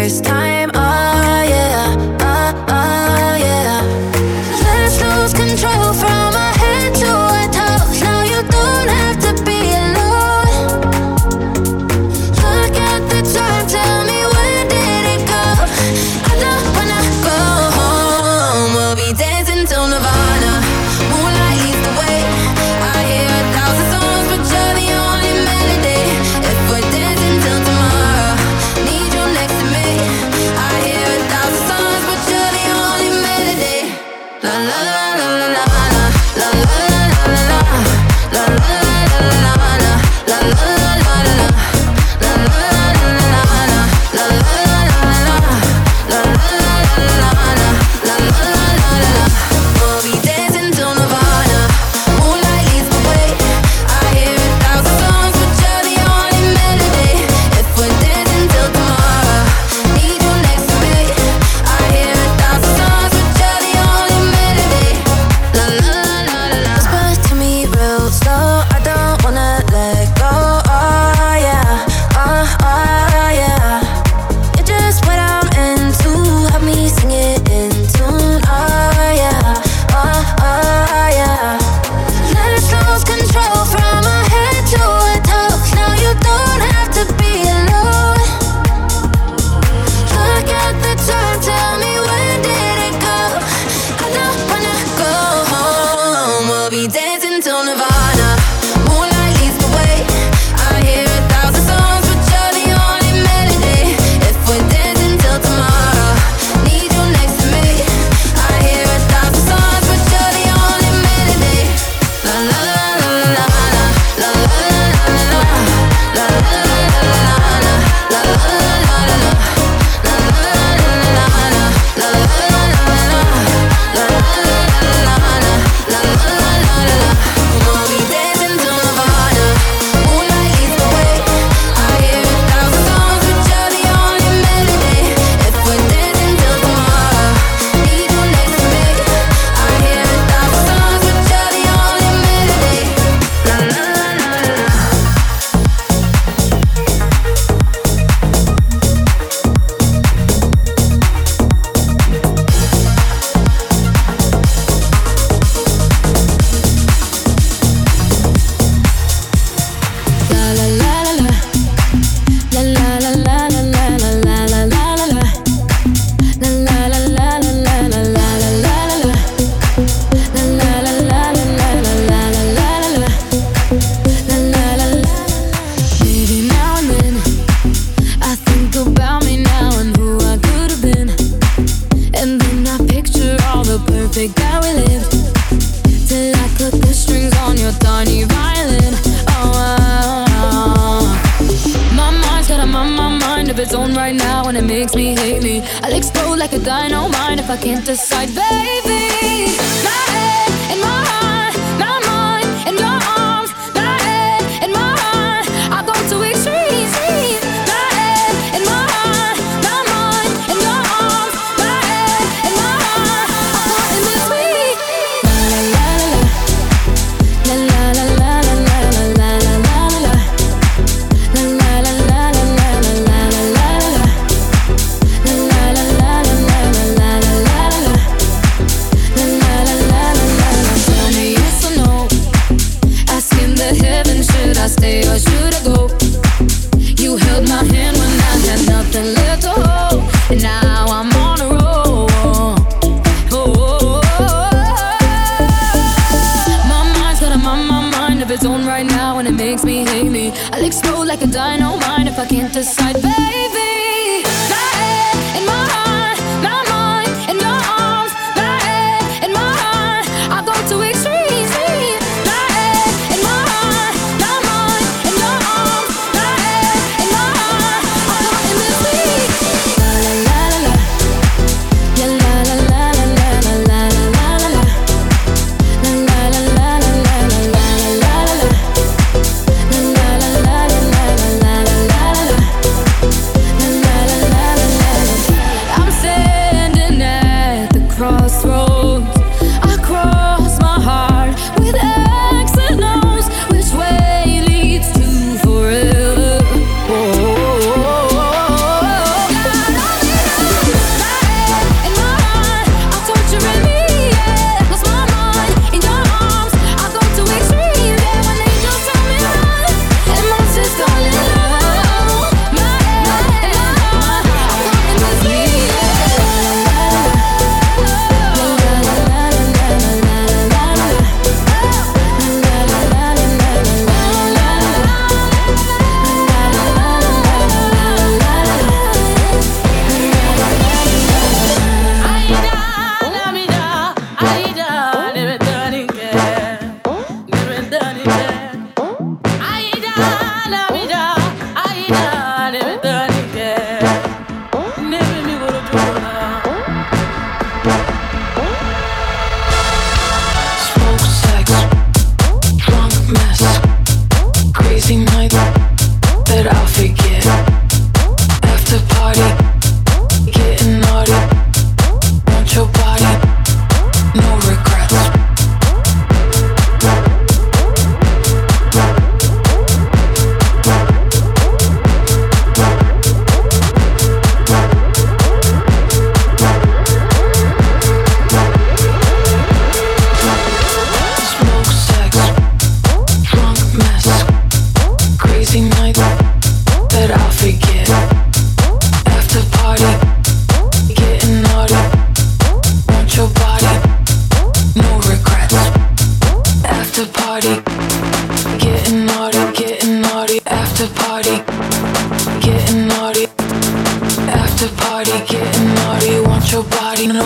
first time. Oh yeah, oh yeah. Let's lose control from our head to our toes. Now you don't have to be alone. Look at the time, tell me when did it go? I don't wanna go home. We'll be dancing till Nirvana. Moonlight leads the way. I hear 1,000 songs, but you're the only melody. If we're dancing till tomorrow, need you next to me. I hear 1,000 songs, but you're the only melody. La la la la la la la la la la la la la la la la la.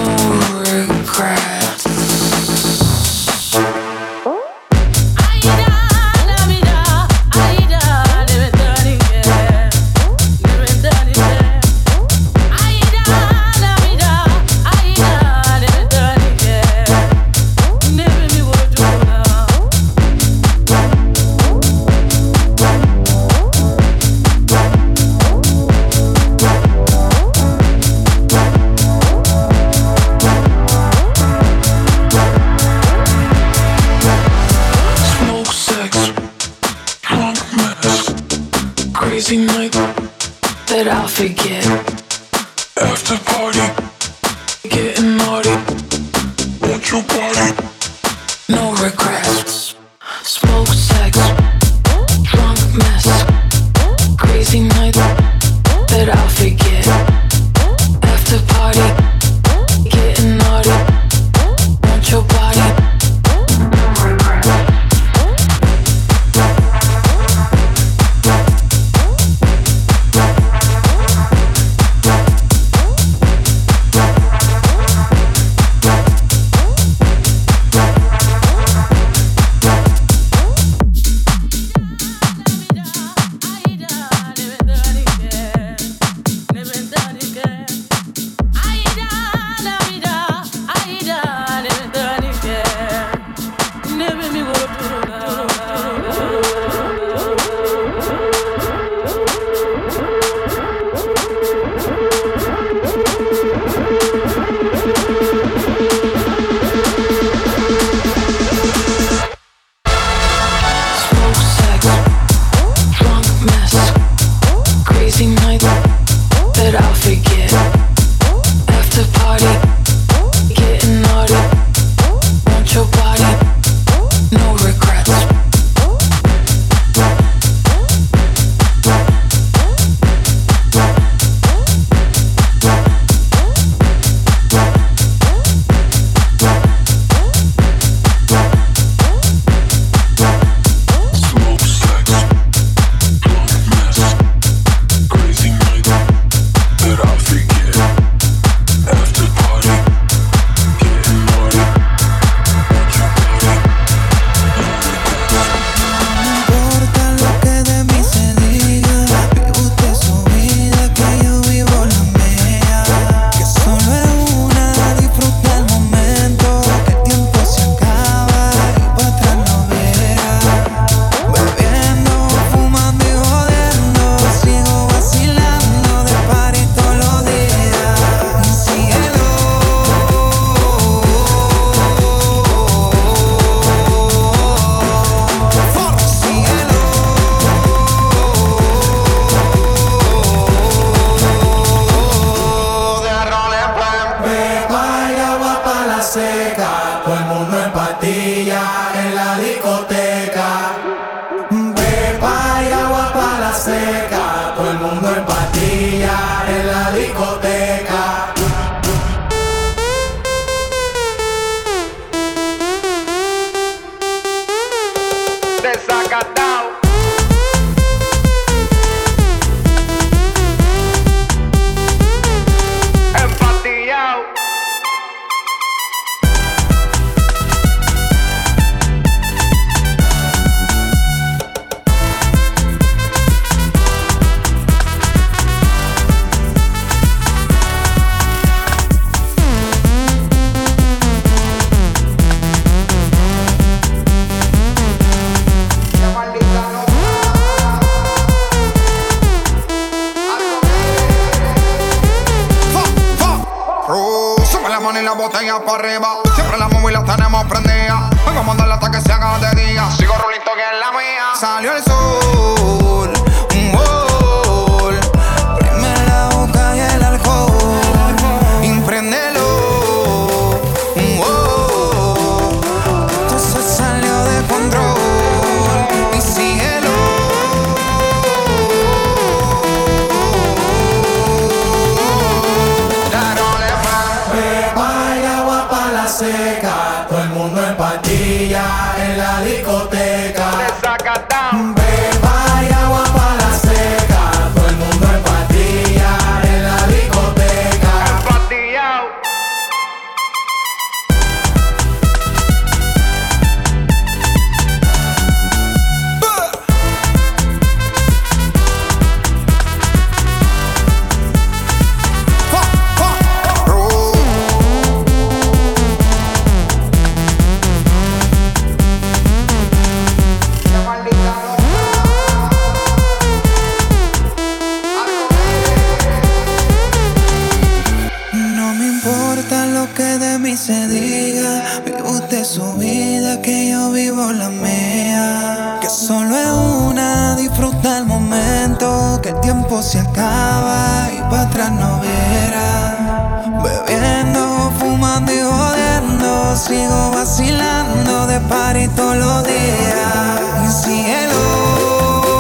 botella para arriba. Siempre la móvil la tenemos prendida. Vengo a mandarla hasta que se haga de día. Sigo rulito que es la mía. Salió el sol, un gol. Prime la boca y el alcohol. Impréndelo, un gol. Esto se salió de control. Y síguelo. Seca, todo el mundo en patilla en la discoteca. Beba y agua pa' la seca, todo el mundo en patilla en la discoteca. importa lo que de mí se diga, vive usted su vida, que yo vivo la mía. Que solo es una, disfruta el momento, que el tiempo se acaba y para atrás no verá. Bebiendo, fumando y jodiendo, sigo vacilando de party todos los días. Y cielo,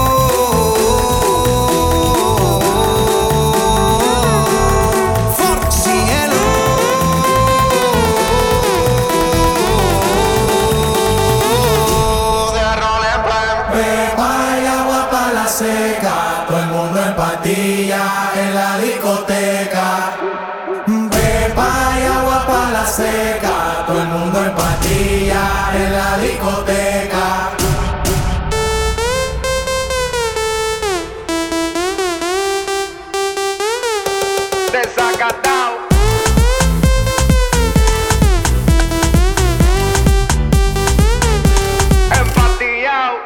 todo el mundo en patilla en la discoteca. Pepa y agua pa' la seca, todo el mundo en patilla en la discoteca. Desacatao. Empatillao.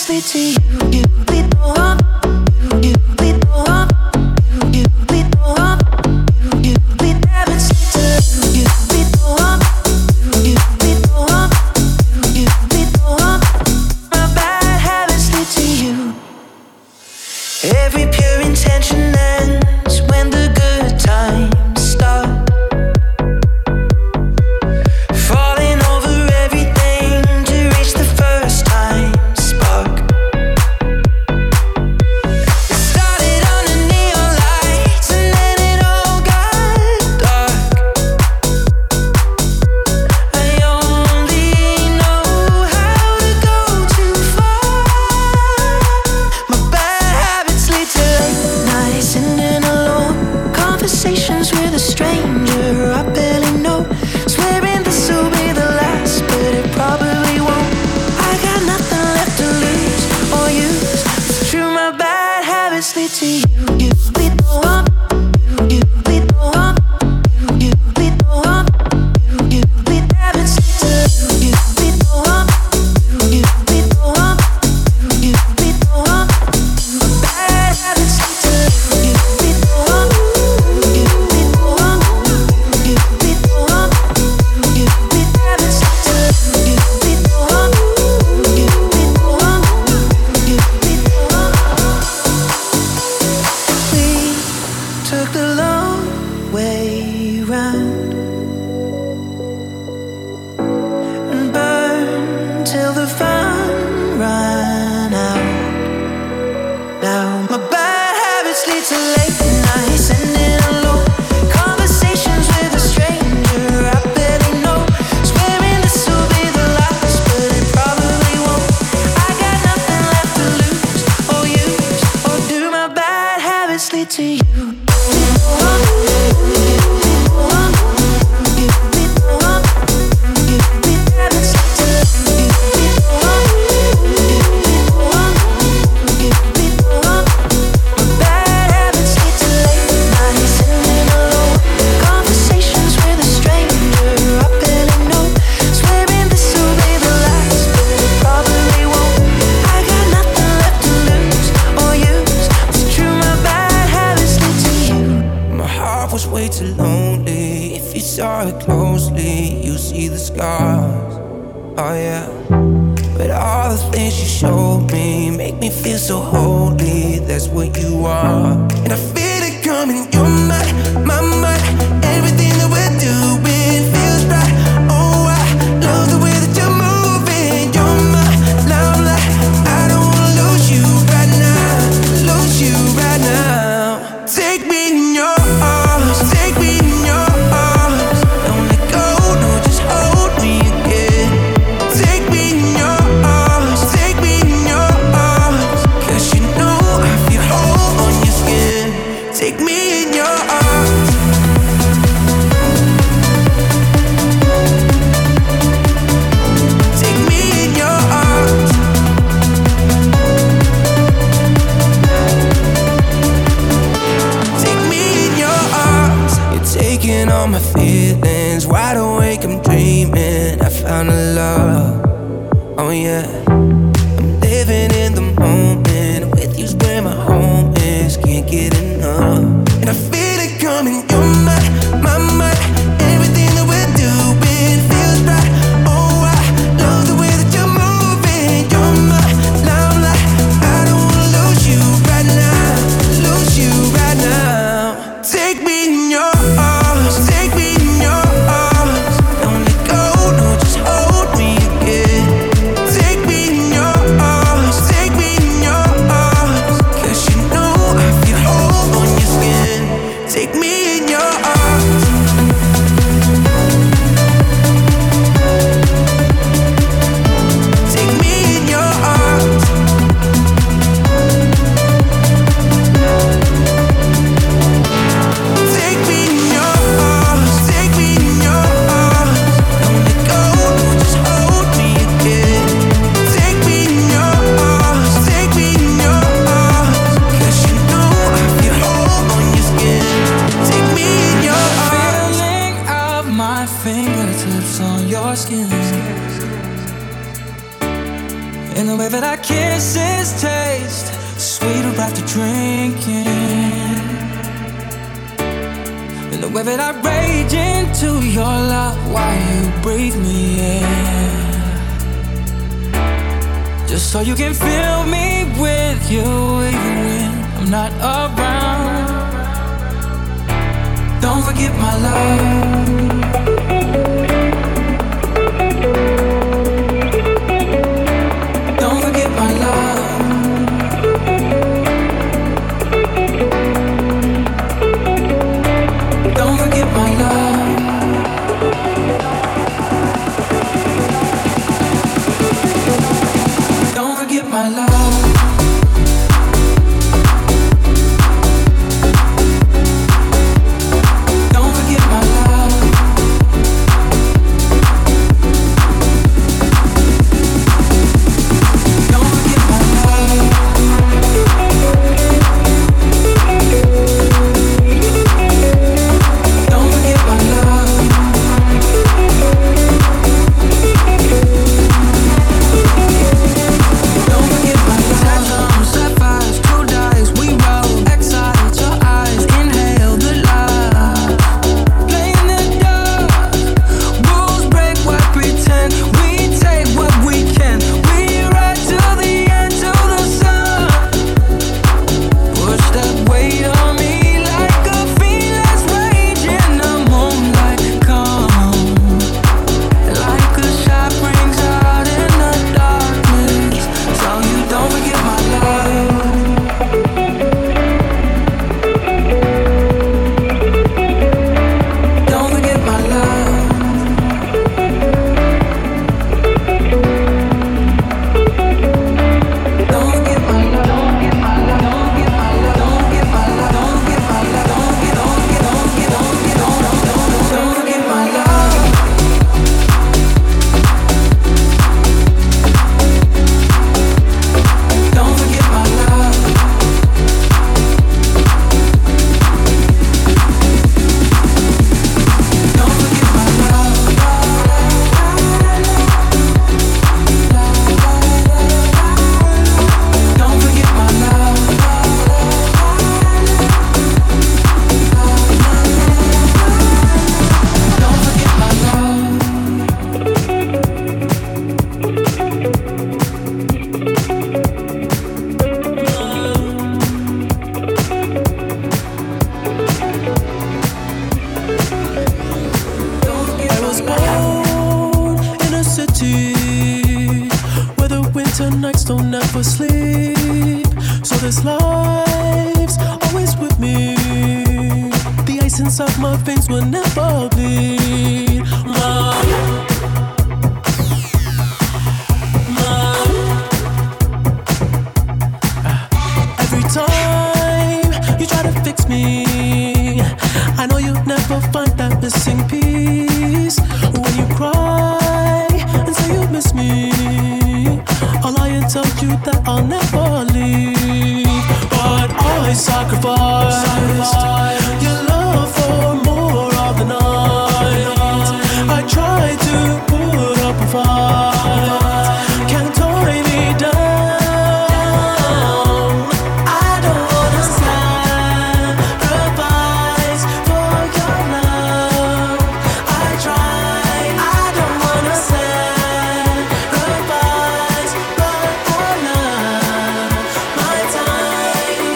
habits lead to you. You lead the one. You lead the one. You lead the one. You lead habits lead to you. You lead the one. You lead the one. You lead the one. My bad habits lead to you. Every pure intention ends when the good times start. Falling over everything to reach the first time spark. It started under neon lights and then it all got dark. I only know how to go too far. My bad habits lead to late nights sitting alone, conversations with a stranger I barely know, swearing this will be the last, but it probably won't. I got nothing left to lose or use. It's true, my bad habits lead to you. You lead the one. You lead the one. You lead the one. You lead habits lead to you. You lead the one. You lead the one. You lead the one. Bad habits lead to you. You lead the one. You lead the one. You lead the one. You lead habits lead to you. You lead the one. You lead the one. You lead the one. We took the long way round and burned till the fun ran out. Now my bad habits lead to late nights sitting alone, conversations with a stranger I barely know, swearing this will be the last, but it probably won't. I got nothing left to lose or use, or do. My bad habits lead to you. Was way too lonely. If you saw it closely, you see the scars. Oh yeah. But all the things you showed me make me feel so holy. That's what you are. And I feel it coming. You're my mind. Everything that we're doing feels right. Oh, I love the way that you're moving. You're my limelight. I don't wanna lose you right now. Lose you right now. Take me in your arms. Take me in your arms. Don't let go, no, just hold me again. Take me in your arms. Take me in your arms. 'Cause you know I feel whole on your skin. Take me in your arms. Take me in your arms. Take me in your arms. You're taking all my feelings. Wide awake, I'm dreaming. I found a love. Oh yeah. I'm living in the moment. With you's where my home is. Can't get enough. And I feel it coming. You're my mind. Everything that we're doing feels right. Oh, I love the way that you're moving. You're my limelight. I don't wanna lose you right now. Lose you right now. Take me in your arms. Take me in your arms. Don't let go, no, just hold me again. Take me in this taste, sweeter after drinking. And the way that I rage into your love while you breathe me in, just so you can fill me with you even when I'm not around. Don't forget my love. Don't forget my love. Don't forget my love. Don't forget my love. Don't forget my love. Don't forget my love. Don't forget my love. Don't forget my love. Sapphires, true dyes, we roll. Excited, your eyes, inhale the light. Playing the dark, rules break what pretend. We take what we can. We ride till the end, till the sun. Push that weight on me like a fearless rage in the moonlight. Come, like a shot rings out in the darkness. Tell you don't forget my love. Don't forget my love. Don't forget my love. Don't get my love. Don't get my love. Don't get my love. Don't get my love. Don't get don't forget my love. Don't forget my love. Don't forget my love. Don't forget my love. Don't forget my love. I was born in a city where the winter nights don't ever sleep. So this life's always with me. The ice inside my veins will never bleed. Every time you try to fix me, I know you'll never find that missing piece. When you cry and say you miss me, I'll lie and tell you that I'll never leave. But I sacrificed your love for more of the night. I tried to put up a fight, can't tie me down. I don't wanna sacrifice for your love. I tried, I don't wanna sacrifice, but I love my time.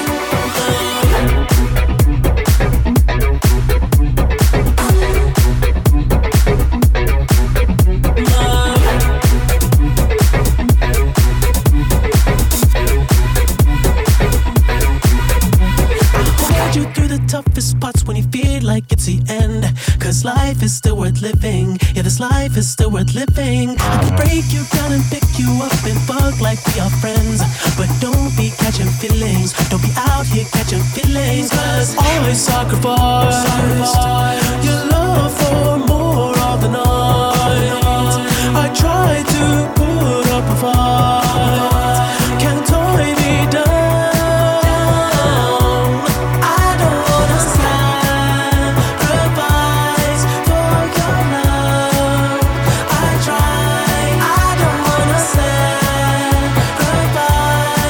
Hold you through the toughest parts when you feel like it's the end. Cause life is still worth living. Yeah, this life is still worth living. I can break you down and pick you up and fuck like we are friends. But don't be catching feelings. Don't be out here catching feelings. Cause I sacrificed your love for more of the night. I tried to put up a fight, can't tie me down. I don't wanna sacrifice for your love. I tried, I don't wanna sacrifice.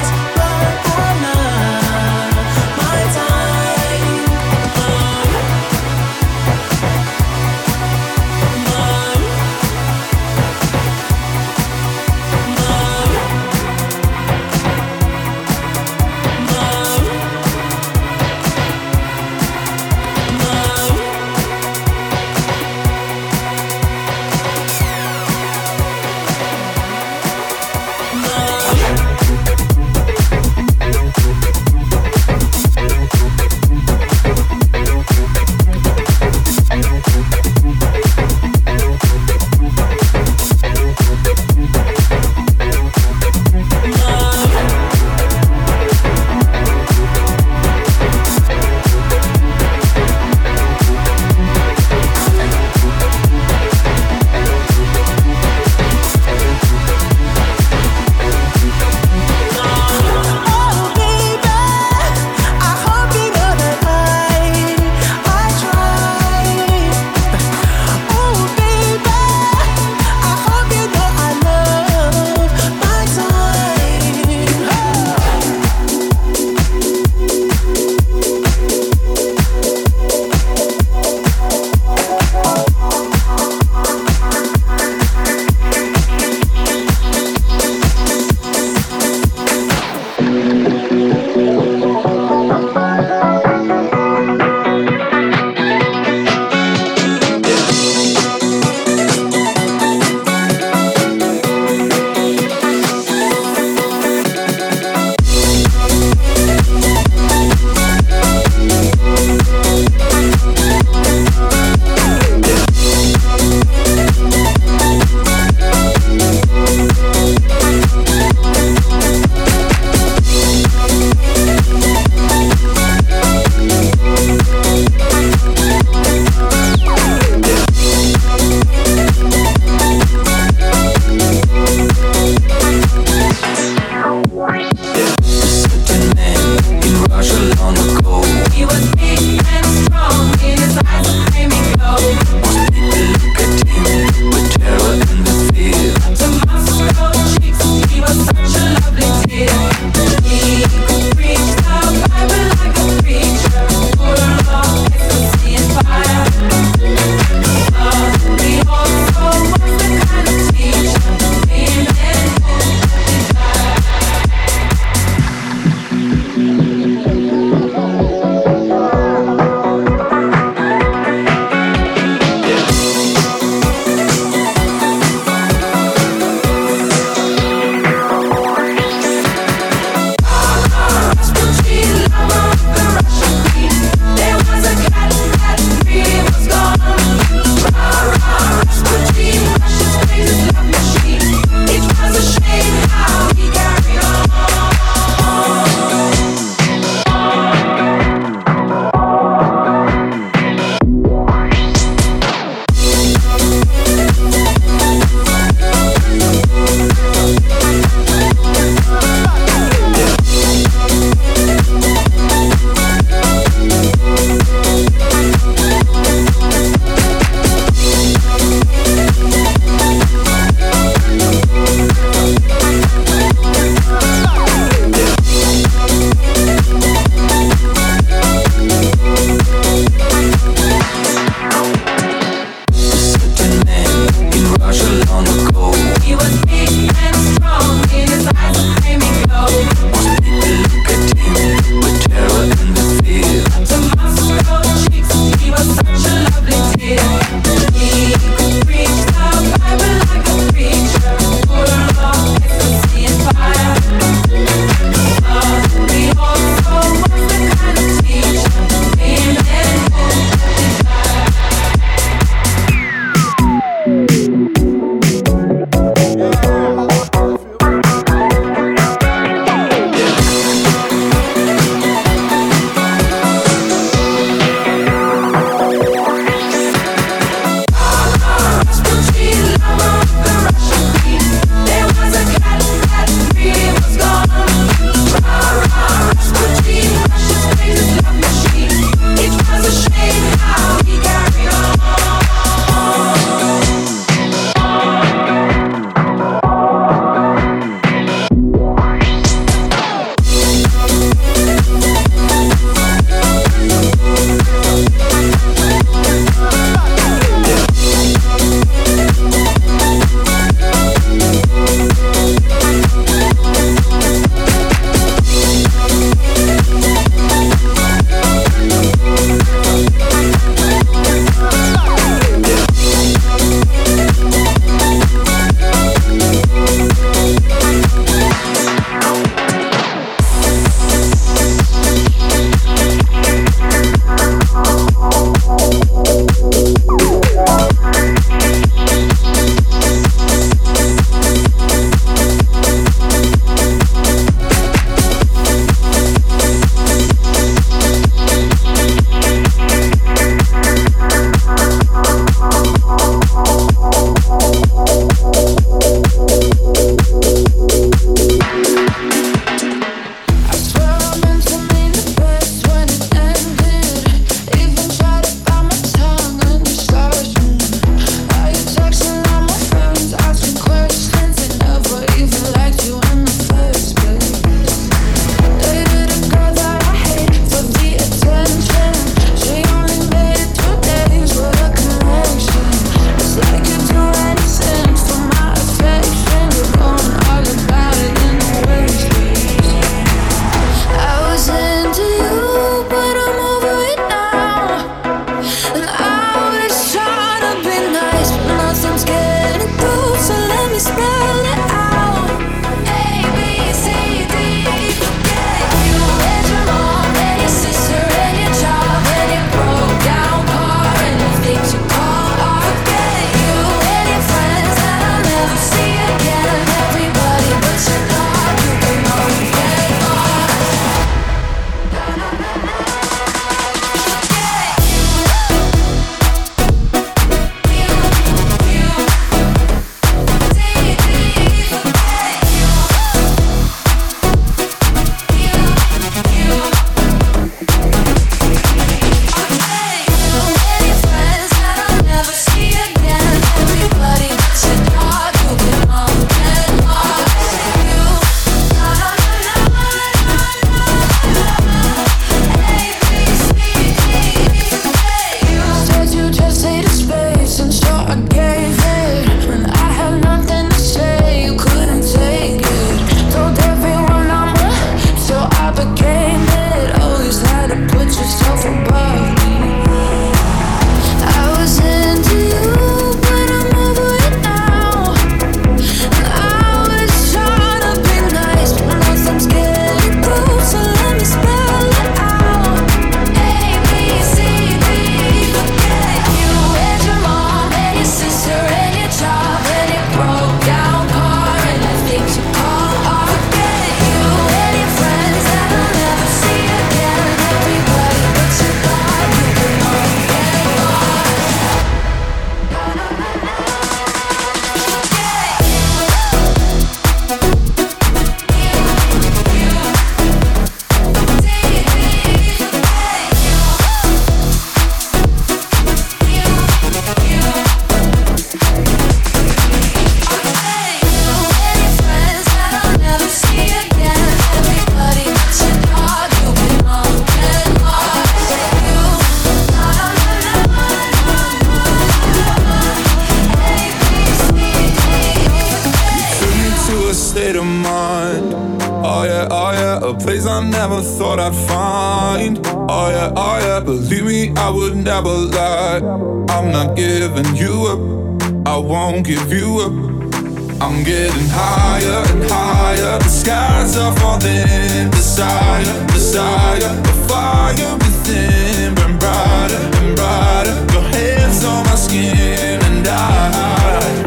yeah, a place I never thought I'd find. Oh yeah, believe me, I would never lie. I'm not giving you up, I won't give you up. I'm getting higher and higher, the skies are falling. Desire, desire, the fire within burn brighter and brighter. Your hands on my skin and I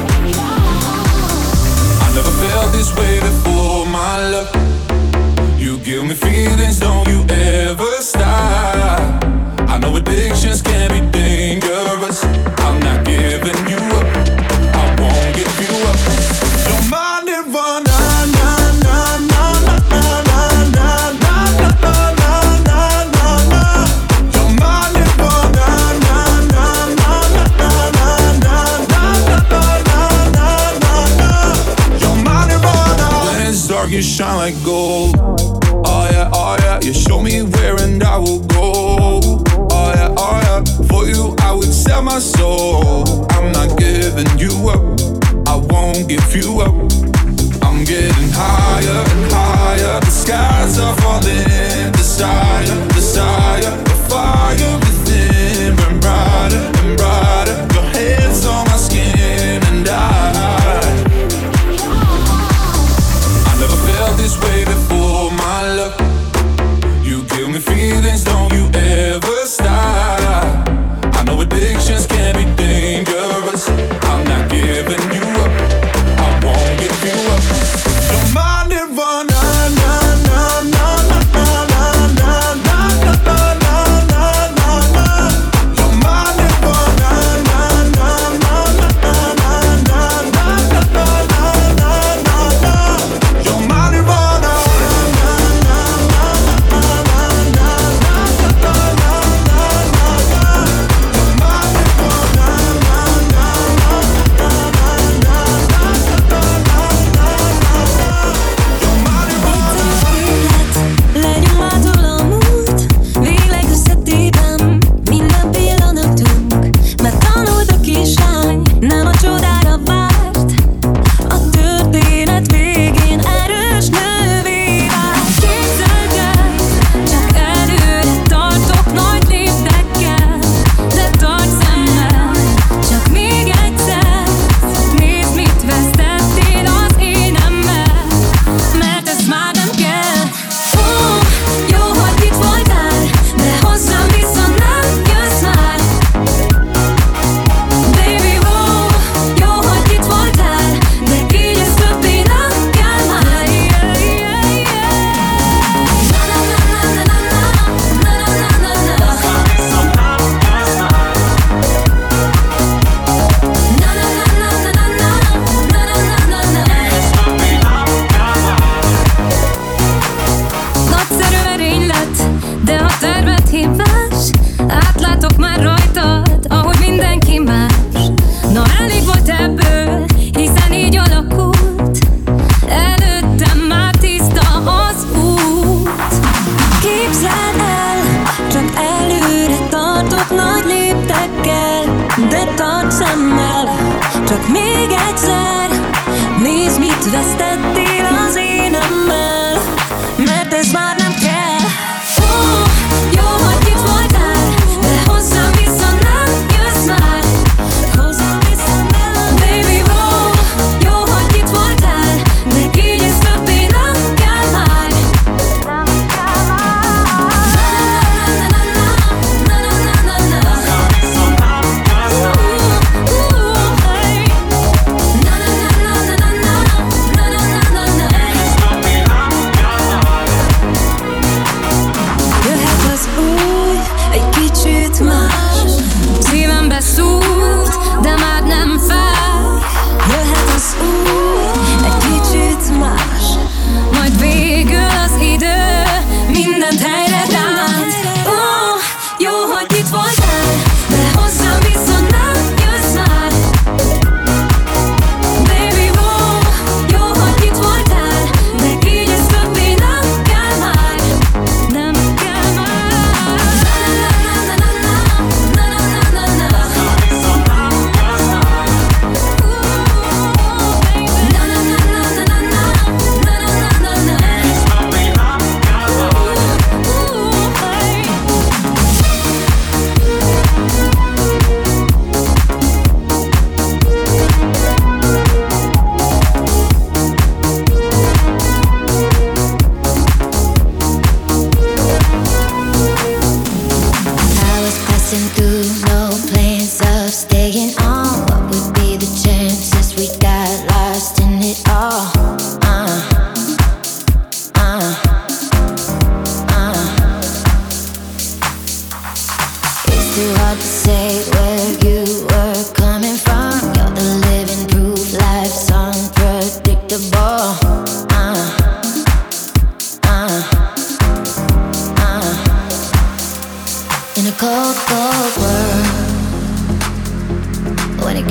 never felt this way before, my love. You give me feelings, don't you ever stop. I know addictions can be dangerous. I'm not giving you up, I won't give you up. Don't mind it, run, na na na na na na na na na na na na. Don't mind it, run, na na na na na na na na na na. When it's dark, you shine like gold. Oh yeah, you show me where and I will go. Oh yeah, for you I would sell my soul. I'm not giving you up, I won't give you up. I'm getting higher and higher, the skies are falling. Desire, desire, the fire within burn brighter and brighter. Your hands on my skin and I never felt this way before, my love. You give me feelings, don't you ever stop. I know addictions can be dangerous. I'm not giving you up, I won't give you up. Don't mind it, run, na na na na na na na na na na na na. Don't mind it, run, na na na na na na na na na na. Don't mind it, run, na na na na na na na. Nem a csodára várt, a történet végén erős nővé vált. Képzeld el, csak előre tartok nagy léptekkel, de tarts szemmel, csak még egyszer. Nézd, mit vesztettél az énemmel, mert ez már nem kell. Jó, hogy itt voltál, de hozzám vissza nem jössz már. Baby, jó, hogy itt voltál, de így ez többé nem kell már. Na na na na na na na na na na. Na na na na na na na na na. Nagyszerű merénylet, de a terved hibás. Átlátok már rajtad, ahogy mindenki más. Na elég volt ebből, hiszen így alakult. Előttem már tiszta az út. Képzeld el, csak előre tartok nagy léptekkel, de tarts szemmel, csak még egyszer. Nézd, mit vesztettél az énemmel, mert ez már nem kell. Jó, hogy itt voltál, de hozzám vissza nem jössz már. Hozzám vissza nem. Baby, jó, hogy itt voltál, de így ez többé nem kell már. Nem kell már. Na na na na na na na. Na na na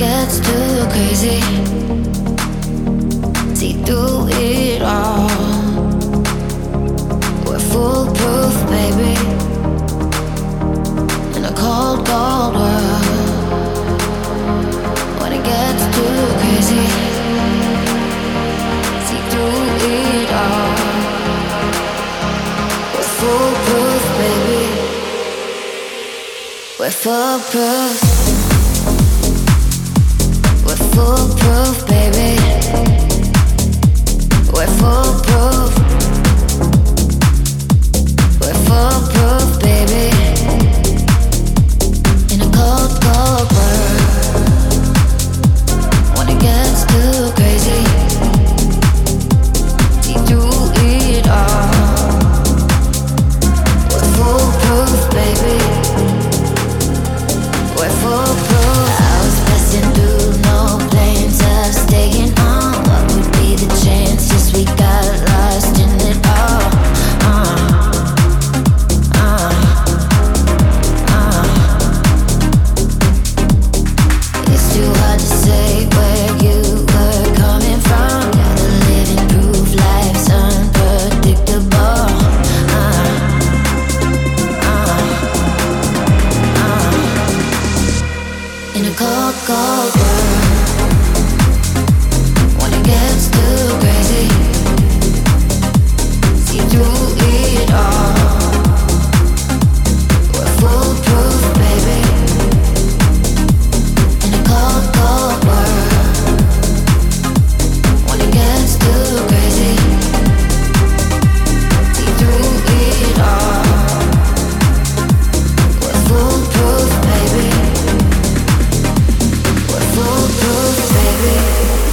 gets too crazy, see through it all. We're foolproof, baby, in a cold, cold world. When it gets too crazy, see through it all. We're foolproof, baby, we're foolproof. We're foolproof, baby. We're foolproof. We're foolproof, baby. In a cold, cold world. When it gets too crazy, see through it all. We're foolproof, baby. We're foolproof. I was passing through, no plans of staying on. What would be the chances we got lost in it all? It's too hard to say where you were coming from. You're the living proof life's unpredictable. In a cold, cold world, when it gets too crazy, see through it all. We're foolproof, baby. In a cold, cold world, when it gets too crazy, see through it all. We're foolproof, baby. We're foolproof, baby.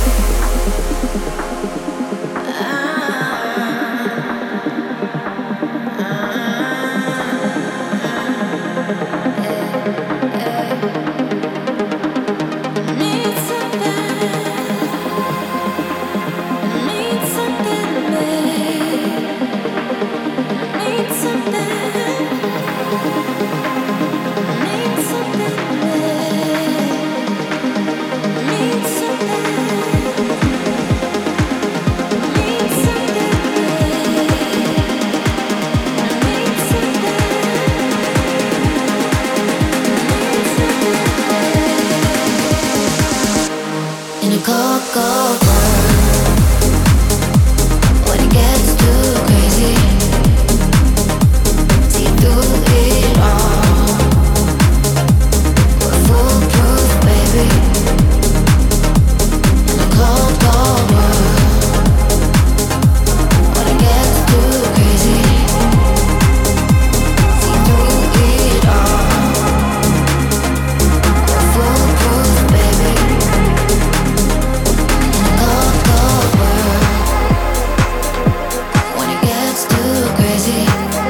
Need something, need something, babe. Need something, need something, babe. Need something, need something, in a cold, cold world, when it gets too crazy, see through it all. We're foolproof, baby, in a cold, cold world, when it gets too crazy, see through it all. We're foolproof, baby. Cold, cold world, when it gets too crazy,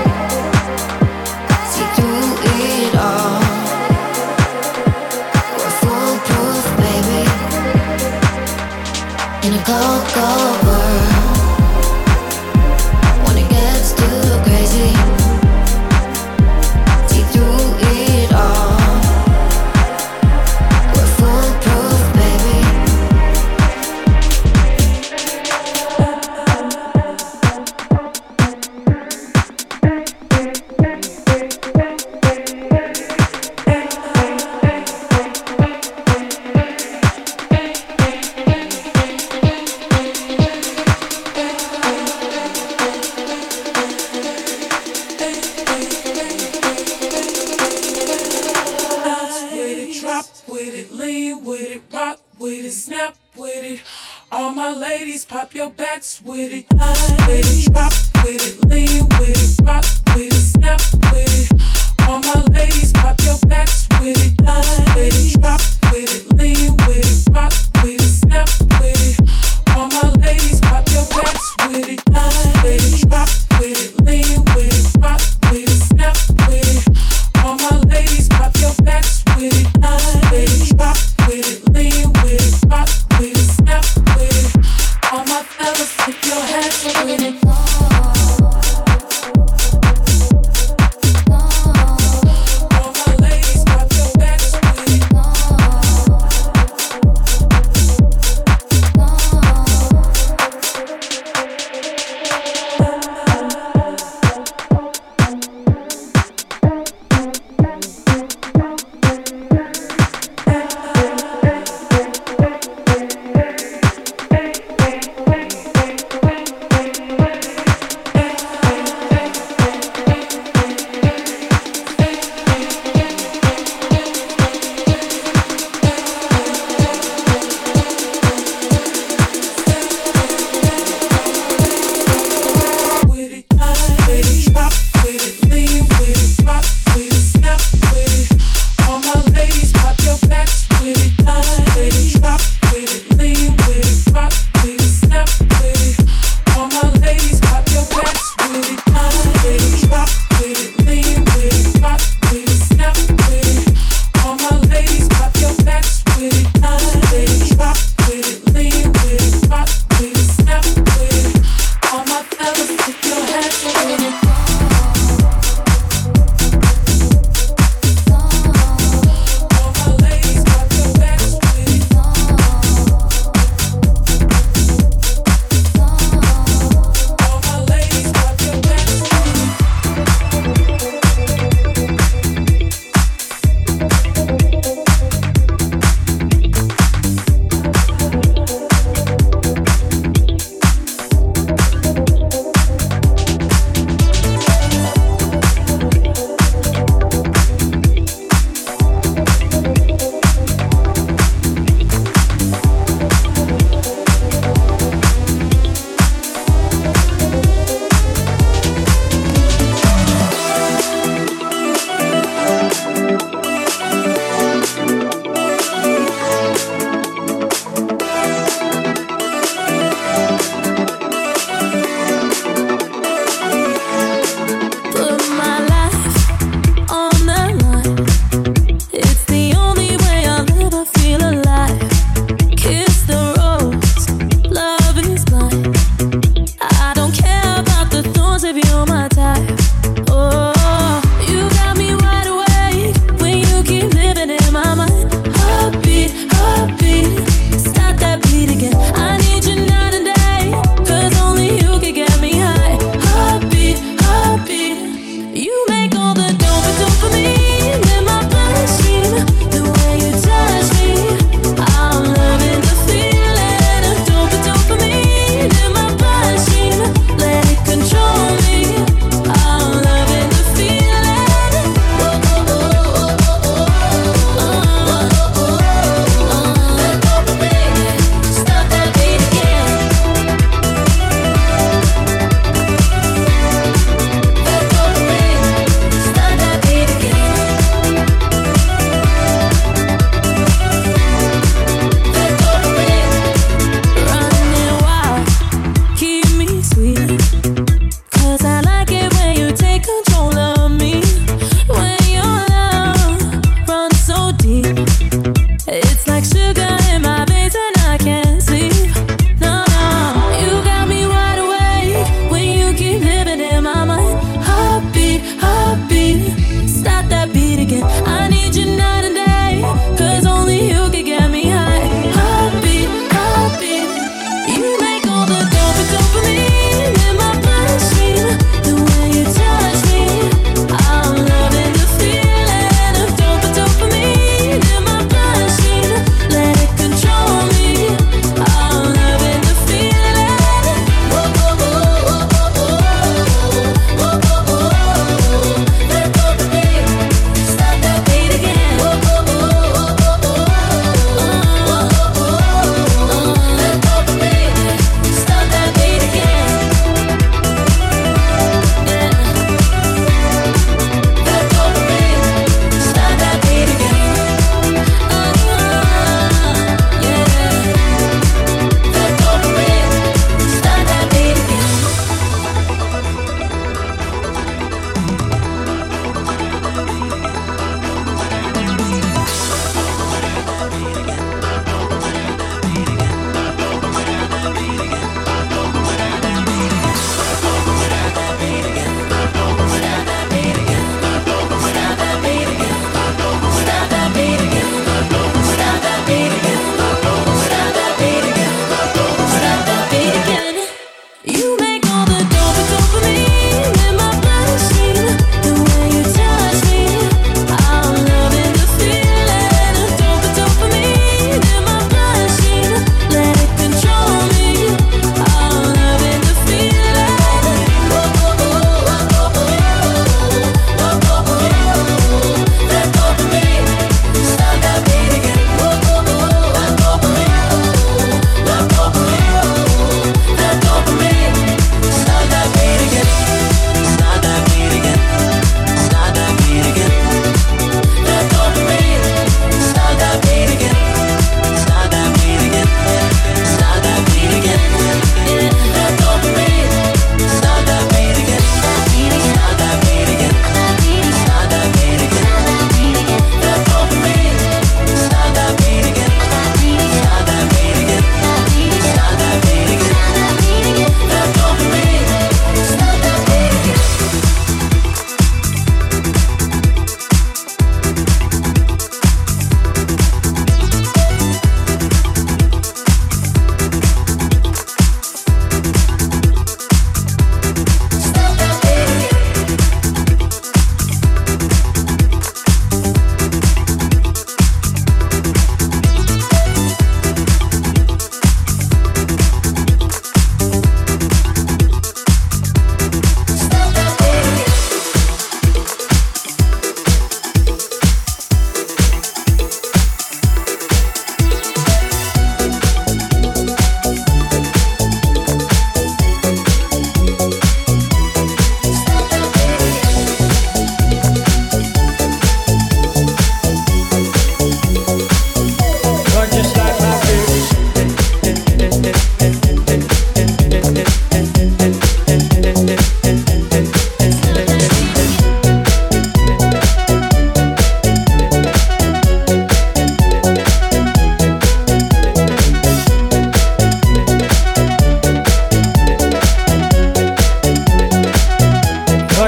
see through it all. We're foolproof, baby. In a cold, cold world, when it gets too crazy, see through it all. We're foolproof, baby. Bounce with it, drop with it, lean with it, rock with it, snap with it. All my ladies, pop your backs with it. Bounce with it, drop with it, lean with it, rock with it, snap with it. All my ladies, pop your backs with it. Bounce with it, drop with it, lean with it, rock with it, snap with it. All my ladies, pop your backs with it. Bounce with it, drop with it, lean with it, rock with it, snap with it. All my ladies, pop your backs with it. Bounce with it, drop with it, lean with it, rock with it, snap with it. All my fellas, put your hands with it.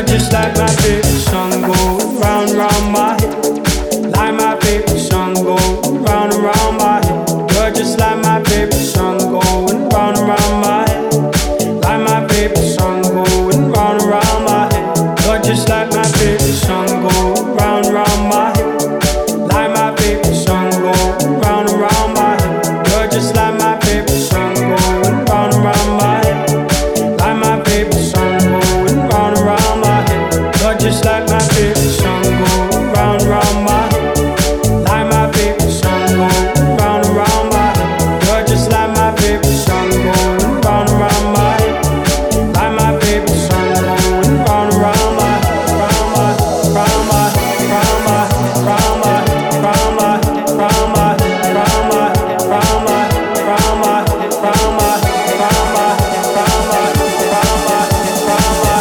You're just like my favorite song going round and round my head. Like my favorite song going round and round my head. You're just like my favorite song going round and round my head. Like my favorite song going round and round my head. You're just like my favorite song going round and round my head. Like my favorite song going round and round my head. You're just like my favorite song going round and round my head. Like my favorite song going round and round my head. You're just like my favorite song going round and round my head. Like my favorite song going round and round my head. You're just like my favorite song going round and round my head. Like my favorite song going round and round my head. Round my, round my, round my, round my, round my, round my, round my, round my, round my, round my, round my, round my, round my,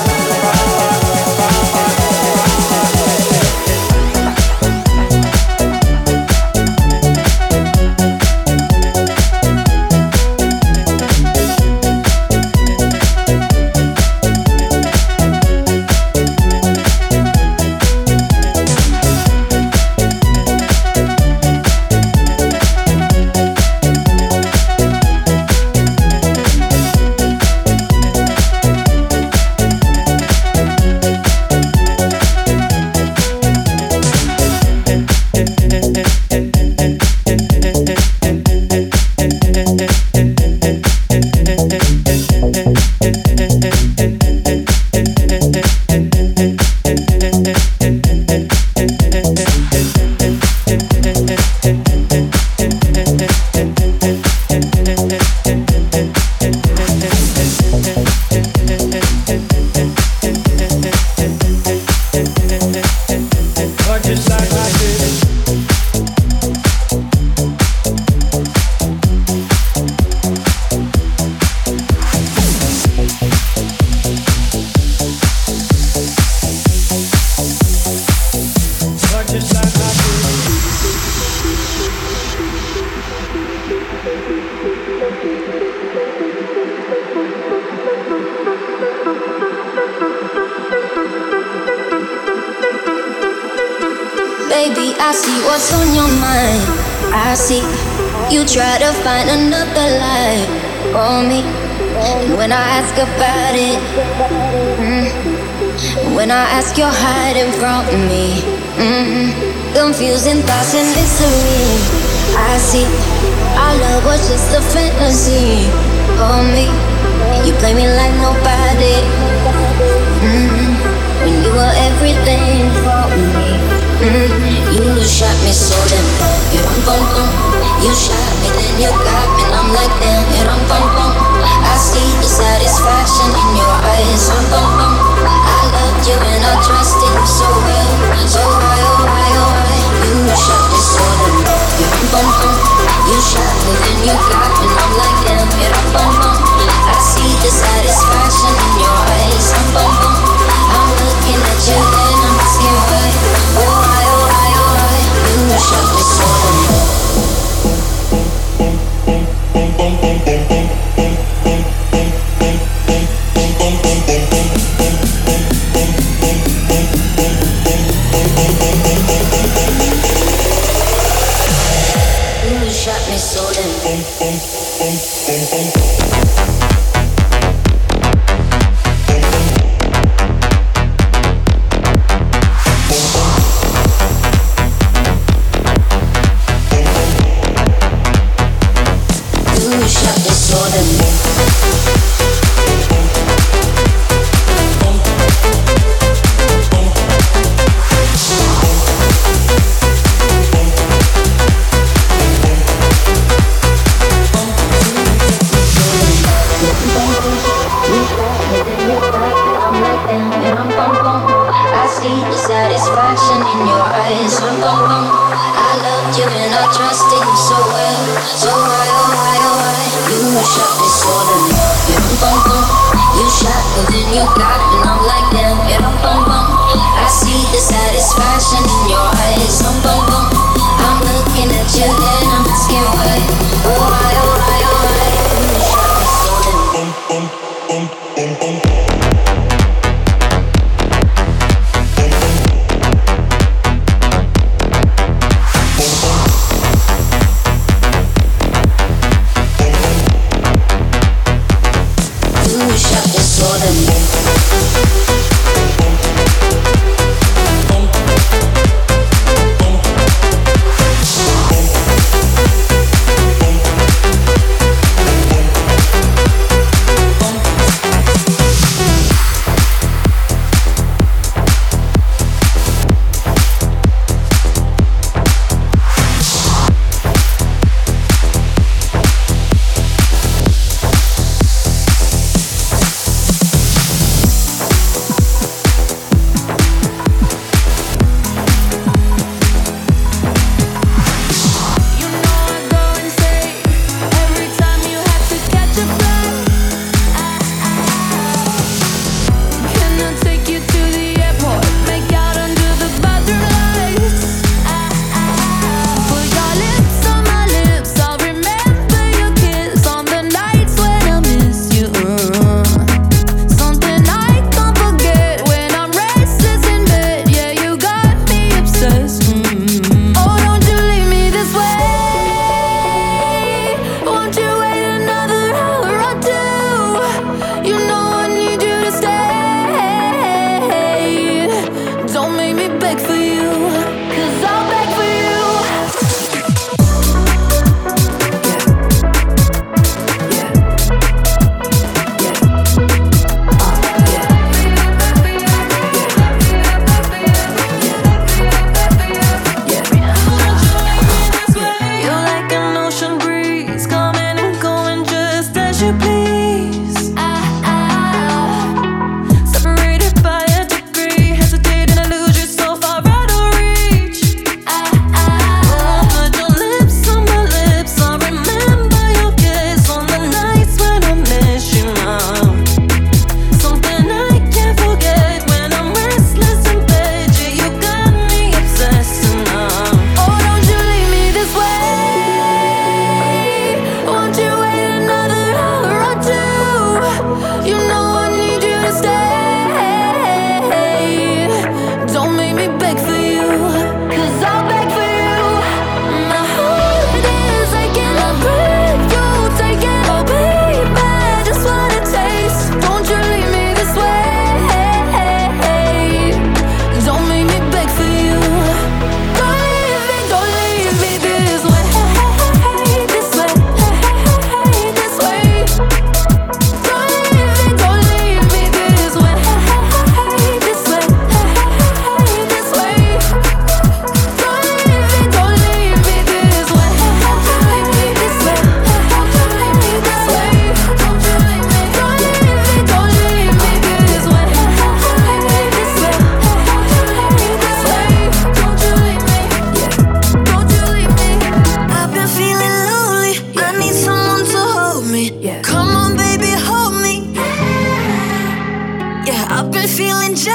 Baby, I see what's on your mind. I see you try to find another life for me. And when I ask about it, when I ask, you're hiding from me. Confusing thoughts and mystery. I see our love was just a fantasy for me. You play me like nobody. When you were everything for me. You shot me so damn you rum bum bum. You shot me, then you got me, and I'm like damn you rum bum bum. I see the satisfaction in your eyes, rum bum bum. I loved you and I trusted you so well, so why oh why oh why? You shot me so damn you rum bum bum. You shot me, then you got me, and I'm like damn you rum bum bum. I see the satisfaction in your eyes, rum bum bum. I'm looking at you and I'm asking why. Oh why oh why oh why? You shot me so damn. You shot me so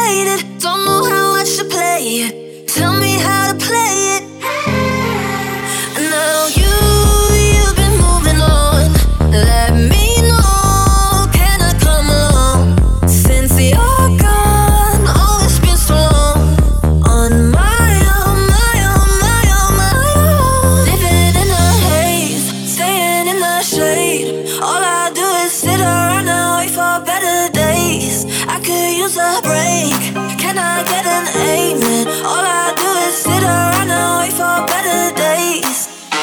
complicated. Don't know how I should play it. Tell me how to play it. And now you've been moving on. Let me know, can I come along? Since you're gone, oh, it's been so long. On my own, my own, my own, my own. Living in the haze, staying in the shade. All I do is sit around and wait for better days. I could use a break, can I get an amen? All I do is sit around and wait for better days.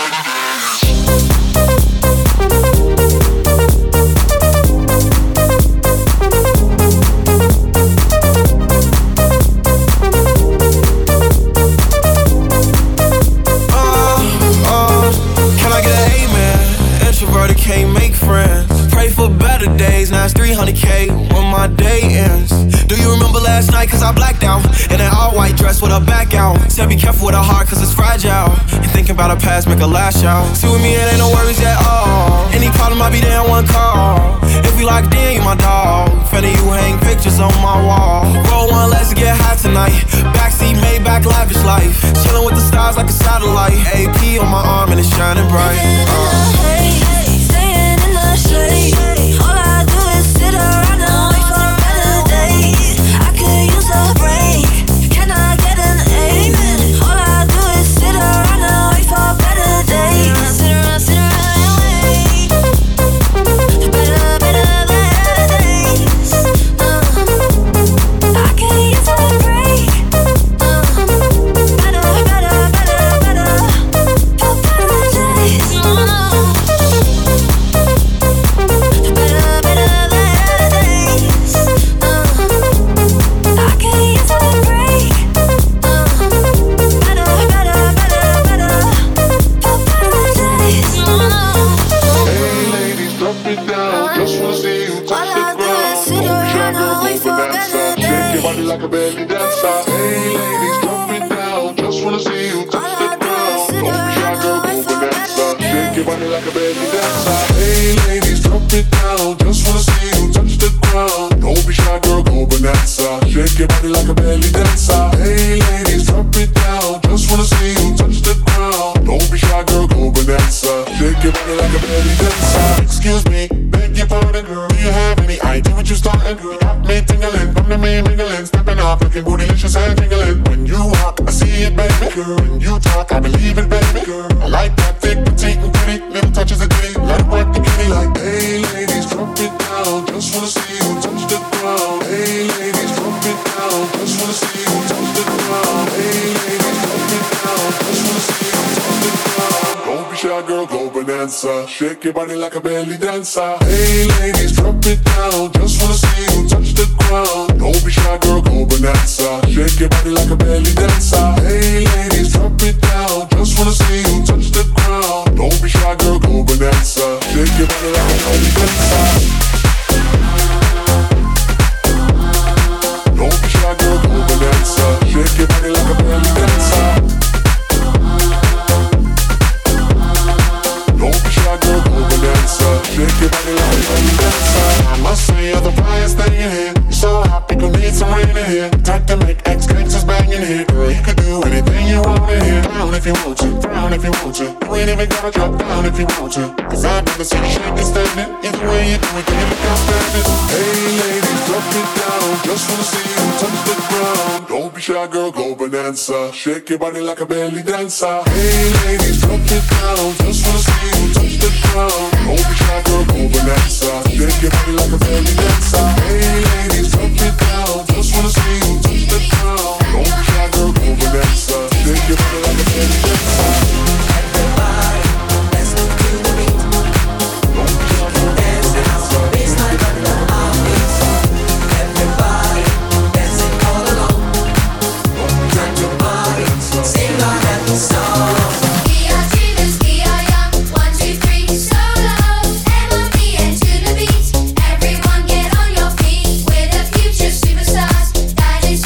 Can I get an amen? Introverted can't make friends. Pray for better days, now it's 300K when my day ends. Do you remember last night, cause I blacked out in an all-white dress with her back out. Said be careful with her heart, cause it's fragile. And thinking about her past, make her lash out. See with me, it ain't no worries at all. Any problem, I'll be there in one call. If we locked in, you my dog. Finna you hang pictures on my wall. Roll one, let's get high tonight. Backseat, Maybach, lavish life. Chillin' with the stars like a satellite. AP on my arm and it's shining bright. Staying in the shade. All I do is sit around and wait for better days. I could use a break, can I get an amen? All I do is sit around and wait for better days. Sit around and wait for better days. I could use a break. Better for better days. Like a belly dancer. Hey ladies, drop it down. Just wanna see you touch the ground. Don't be shy, girl, go bonanza. Shake your body like a belly dancer. Hey ladies, drop it down. Just wanna see you touch the ground. Don't be shy, girl, go bonanza. Shake your body like a belly dancer. Hey ladies, drop it down. Just wanna see you touch the ground. Don't be shy, girl, go bonanza. Shake your body like a belly dancer. Excuse me, beg your pardon, girl. Do you have any idea what you starting, girl? Got me tingling, come to me mingling, stepping off, looking bootylicious and tingling. When you walk, I see it, baby, girl. When you talk, I believe it, baby, girl. I like that thick, petite, and pretty, little touches of ditty. Let it work the kitty like, hey ladies, drop it down. Just wanna see you touch the ground. Hey ladies, drop it down. Just wanna see you touch the ground. Hey ladies, drop it down. Just wanna see you touch the ground. Don't be shy, girl, go bonanza. Shake your body like a belly dancer. Hey ladies, drop it down. Just wanna see you touch the ground. Don't be shy, girl, go bonanza. Shake your body like a belly dancer. Hey ladies, drop it down. Just wanna see you touch the ground. Don't be shy, girl, go bonanza. Shake your body like a belly dancer. Don't be shy, girl, go bonanza. Shake your body like a belly dancer. Don't be shy, girl, go bonanza. Shake your body like a belly dancer. I must say you're the brightest thing in here. You're so hot, we gon' need some rain in here. Time to make ex-gangsters bang in here. Girl, you could do anything you want in here. Down if you want to, down if you want to. You ain't even gotta drop down if you want to. Cause I've never seen you shaking standing. Either way you do it, can you look outstanding? Hey ladies, drop it down. Just wanna see you touch the ground. Don't be shy, girl, go bonanza. Shake your body like a belly dancer. Hey ladies, drop it down. Just wanna see you touch the ground. Don't be shy, girl, go bonanza. Shake your body like a belly dancer. Hey ladies, drop it down. Just wanna see you touch the ground. Don't be shy, girl, go bonanza. Shake your body like a belly dancer. Everybody, let's do the beat. Don't be shy, girl, dance it out. Baseline under our feet. Everybody, dancing all along. Turn your body, sing our happy song. We are dreamers, we are young. 1, 2, 3, solo. MOB and to the beat. Everyone get on your feet. We're the future superstars. That is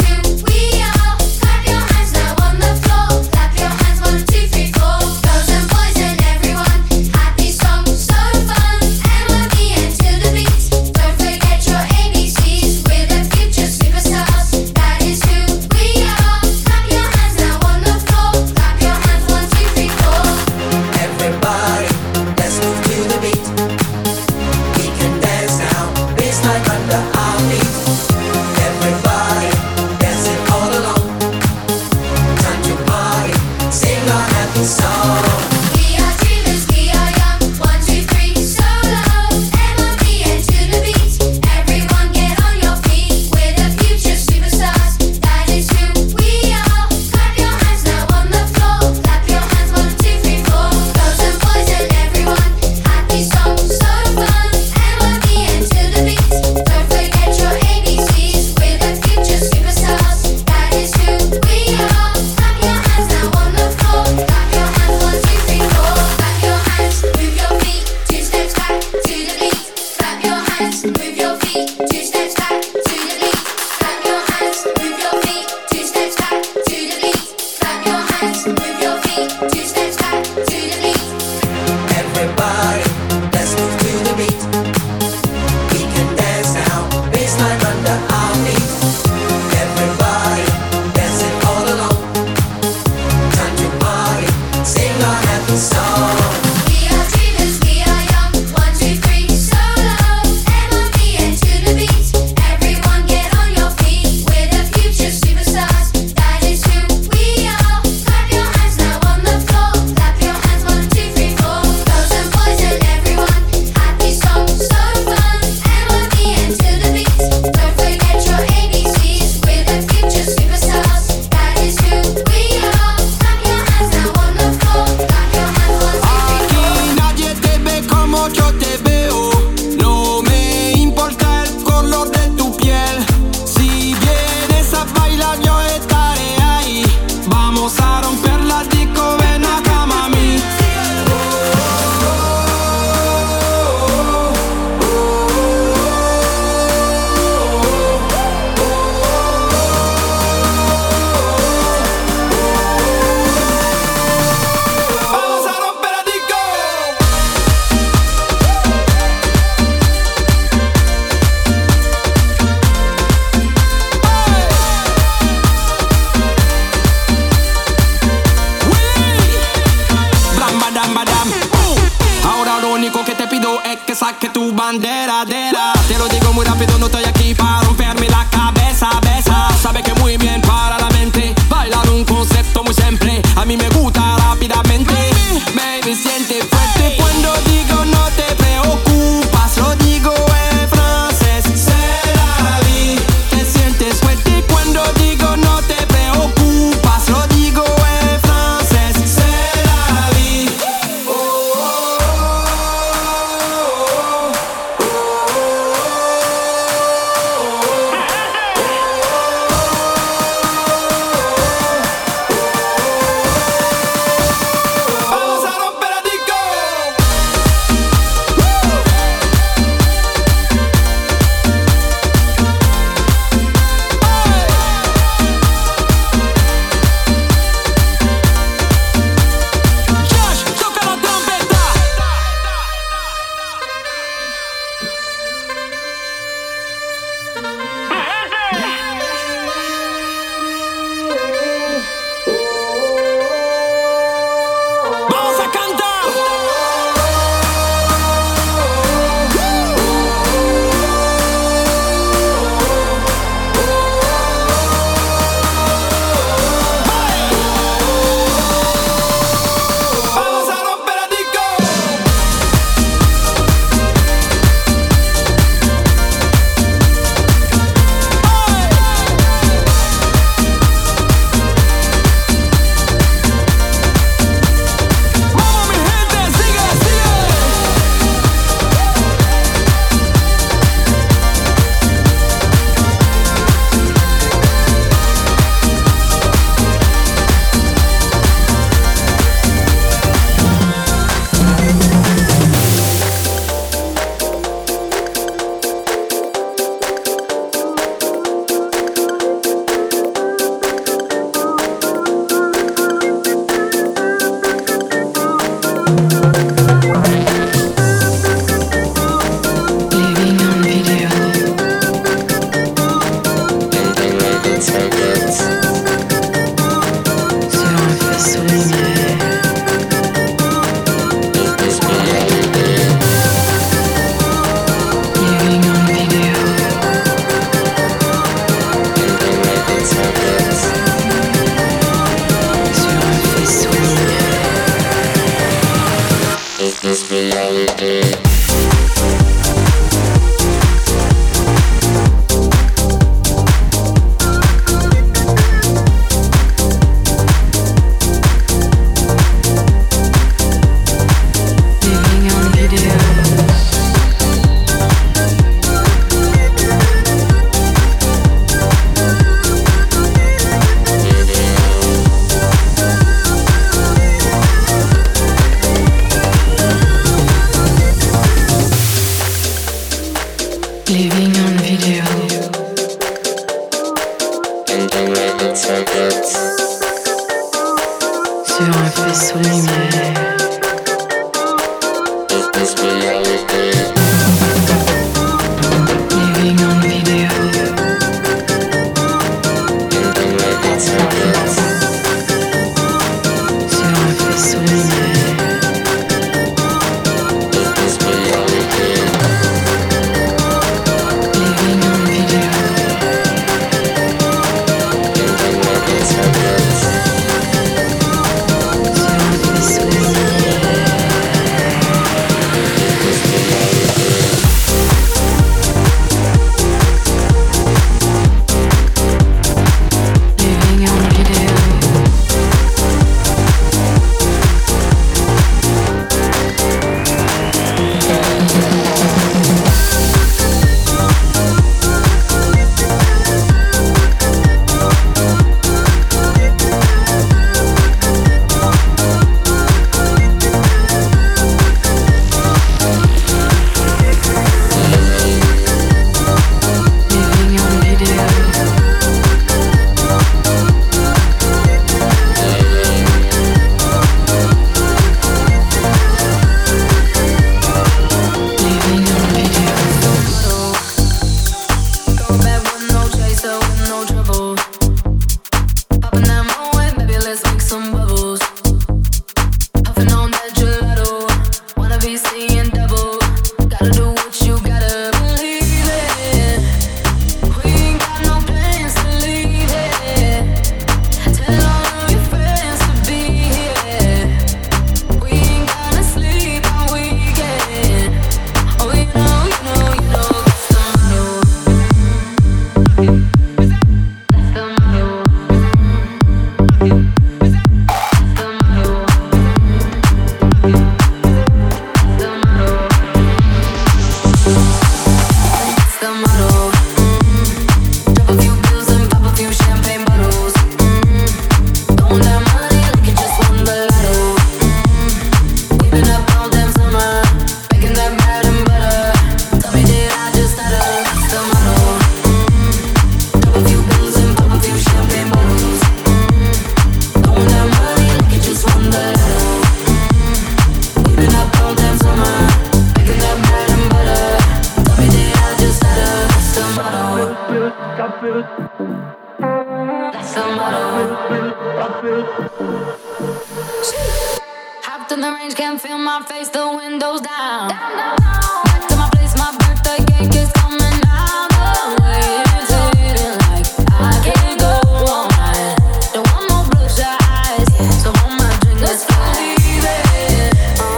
Hopped in the range, can't feel my face, the windows down. Back to my place, my birthday cake is coming out the way. It's hitting like I can't go all night. Don't want no bloodshot eyes, so hold my drink, let's leave it.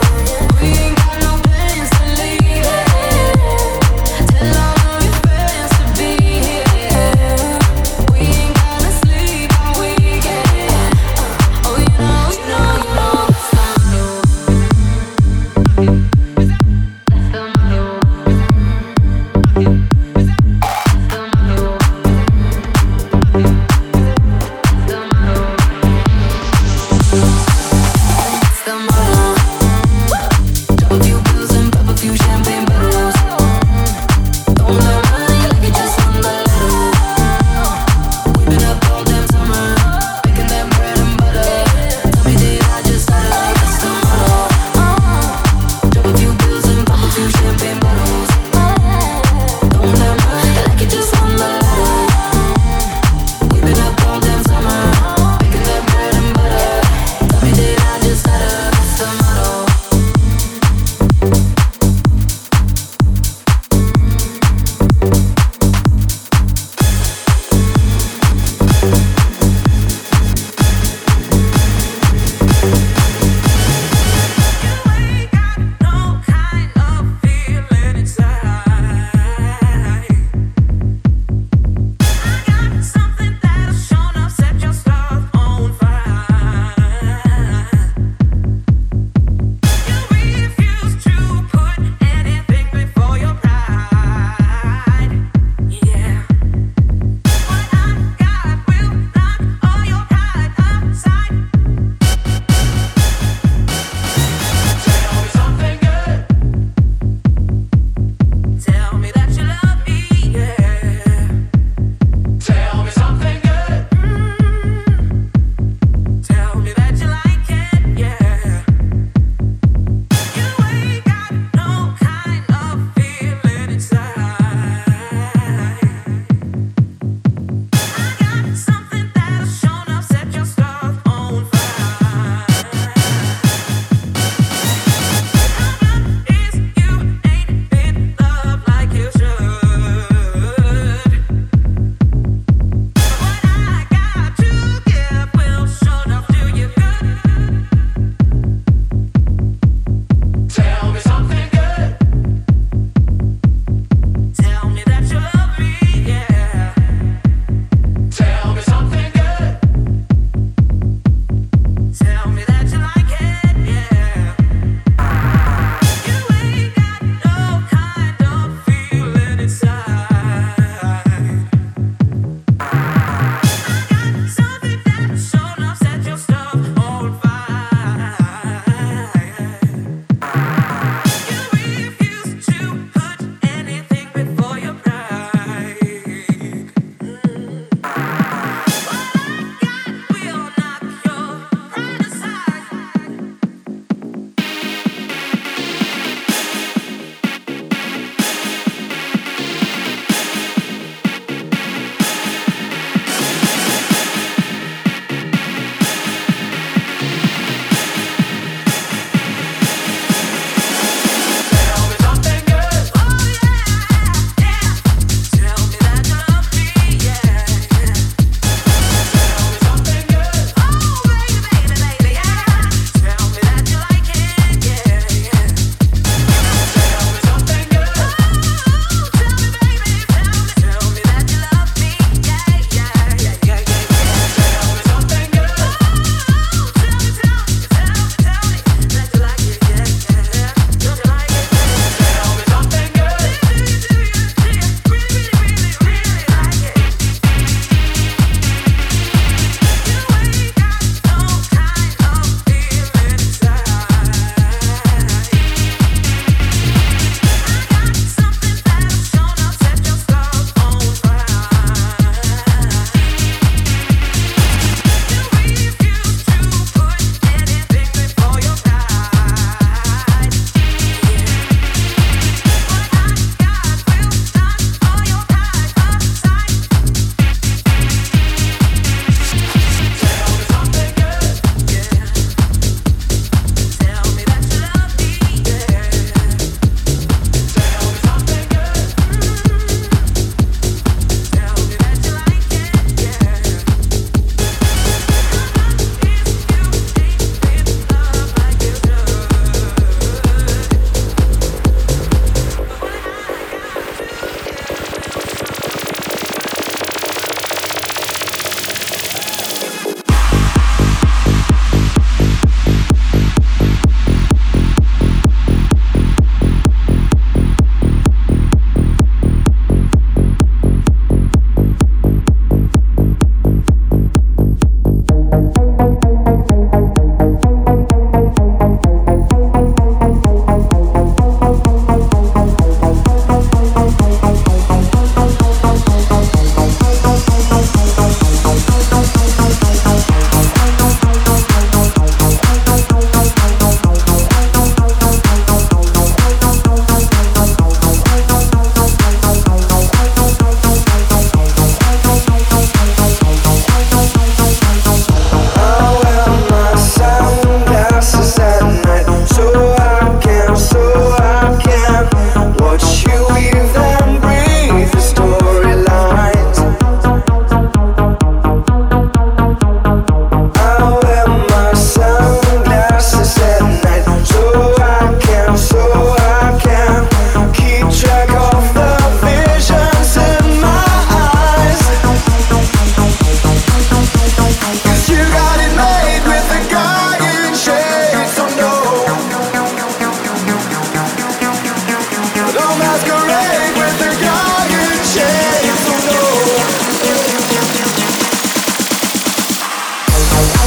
We ain't got no plans to leave it. Tell all of your friends to be here. We ain't gonna sleep all weekend. Oh, you know, you know, you know.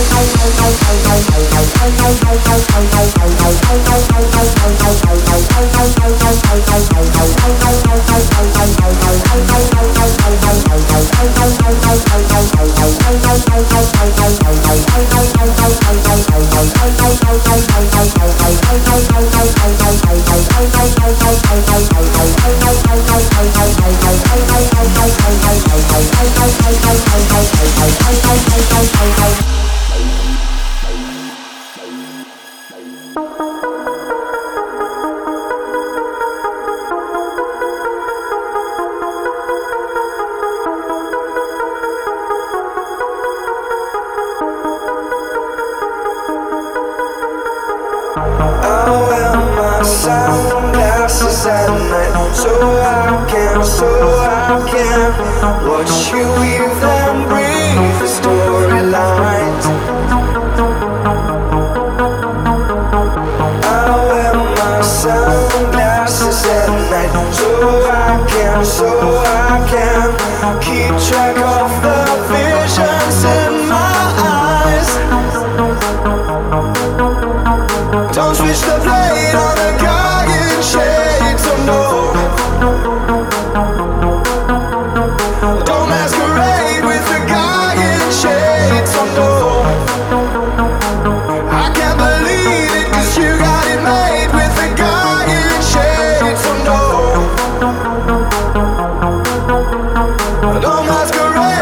Don't masquerade.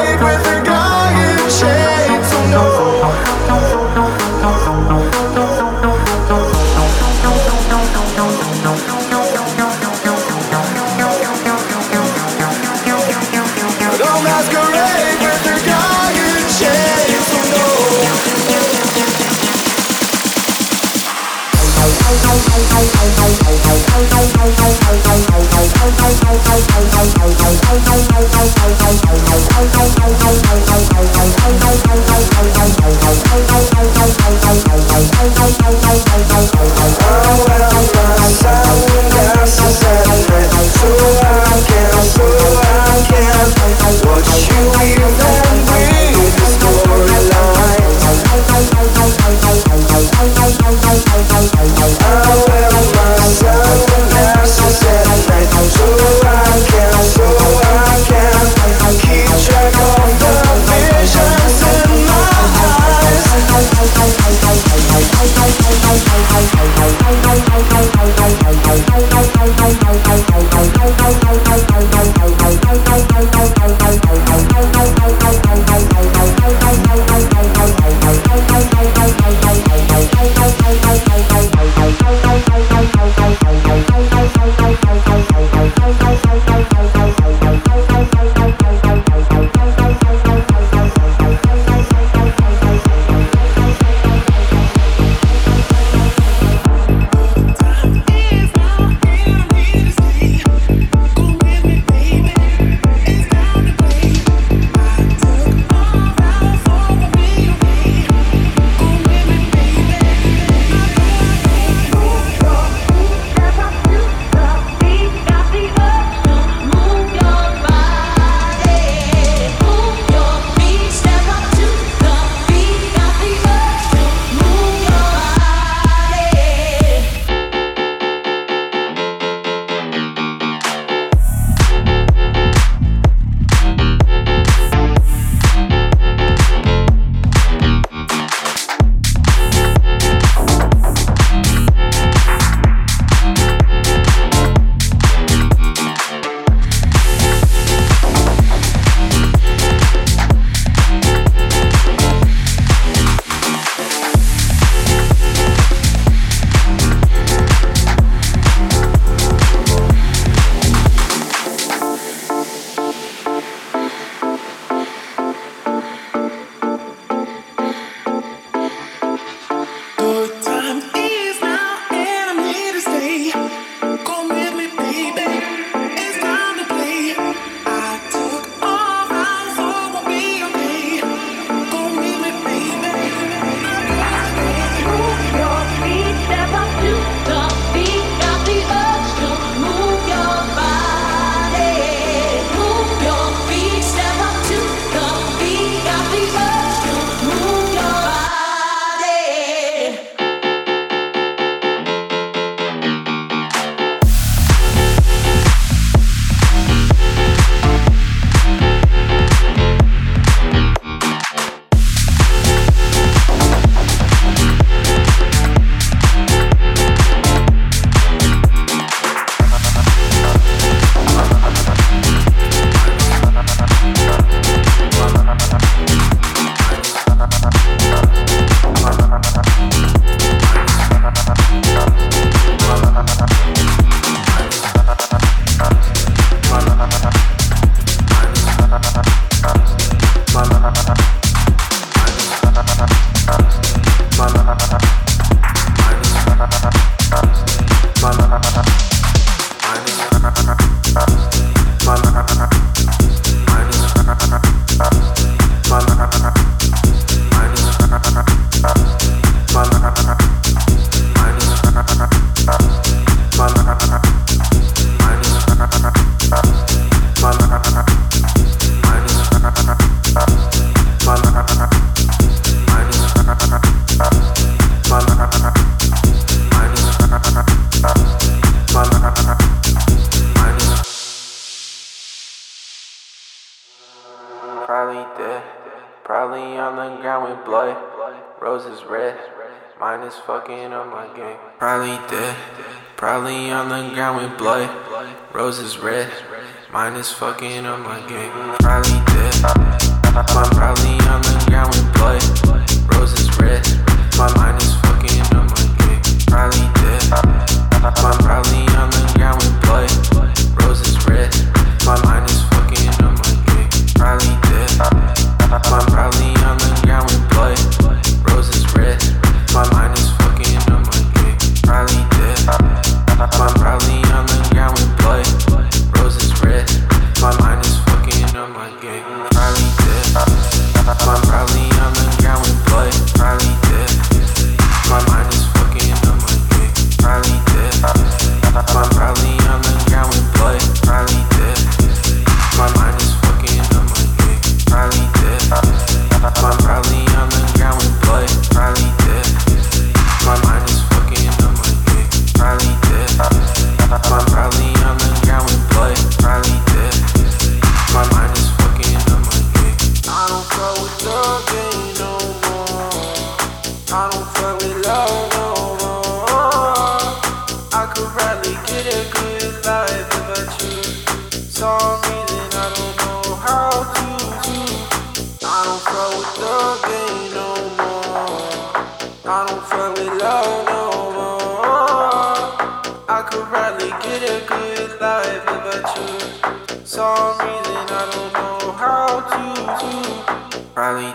ground with blood. Roses red. Mine is fucking up my game. Probably dead. Probably on the ground with blood. Roses red. Mine is fucking up my game. Probably dead. I'm probably on the ground with blood. Roses red. My mind is fucking up my game. Probably dead. I'm probably on the ground with blood. Roses red. My mind is fucking up my game. Probably dead. I'm probably on the ground with blood. Roses red. My mind is fucking up my game. Probably dead. I'm probably on the ground with blood. Roses red. My mind is fucking up my game. Probably dead. I'm probably on the ground with blood. Probably dead. My mind is fucking up my game. Probably dead. I'm probably on the ground with blood. Probably dead. My mind is fucking up my game. Probably dead. I'm probably on the ground with blood. Probably dead. My mind is fucking up my game. Probably dead. I'm probably on the ground with blood. Probably dead. My mind is fucking up my game. I don't fuck with the game no more. I don't fuck with love no more. I could probably get a good life if I choose. Some reason I don't know how to do. I don't fuck with the game no more. I don't fuck with love no more. I could probably get a good life if I choose. Some reason I don't know how to do. Probably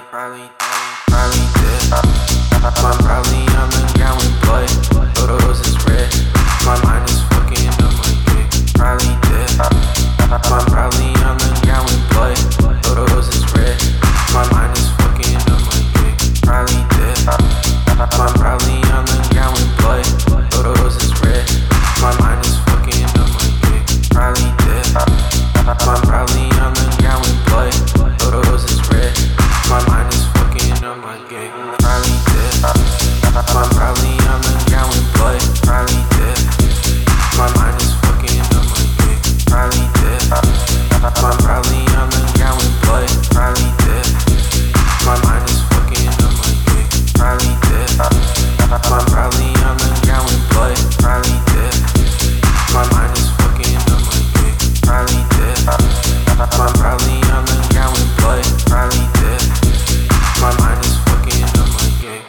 dead. I'm probably on the ground with blood. Roses red. My mind is fucking up my game. Probably dead. I'm probably on the ground with blood. Roses red. My mind is fucking up my game. Probably dead. I'm probably on the ground with blood. Roses red. My mind is fucking up my game. Probably dead. I'm probably on the ground with blood. Roses red. My mind is fucking up my game. Probably dead. I'm probably on the ground with blood. Probably dead. My mind is fucking up my game. Probably dead. I'm probably on the ground with blood. Probably dead. My mind is fucking up my game. Probably dead. I'm probably on the ground with blood. Probably dead. My mind is fucking up my game. Probably dead. I'm probably on the ground with blood. Probably dead. My mind is fucking up my game.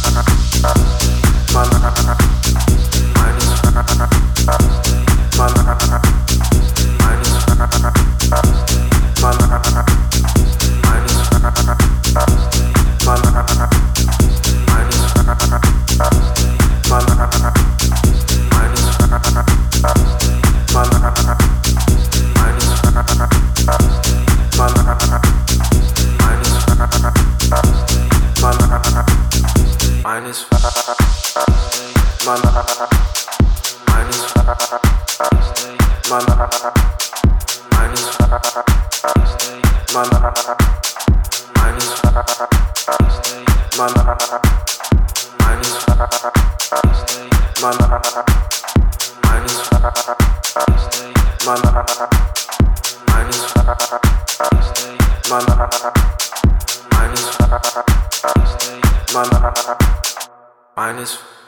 My mind is minus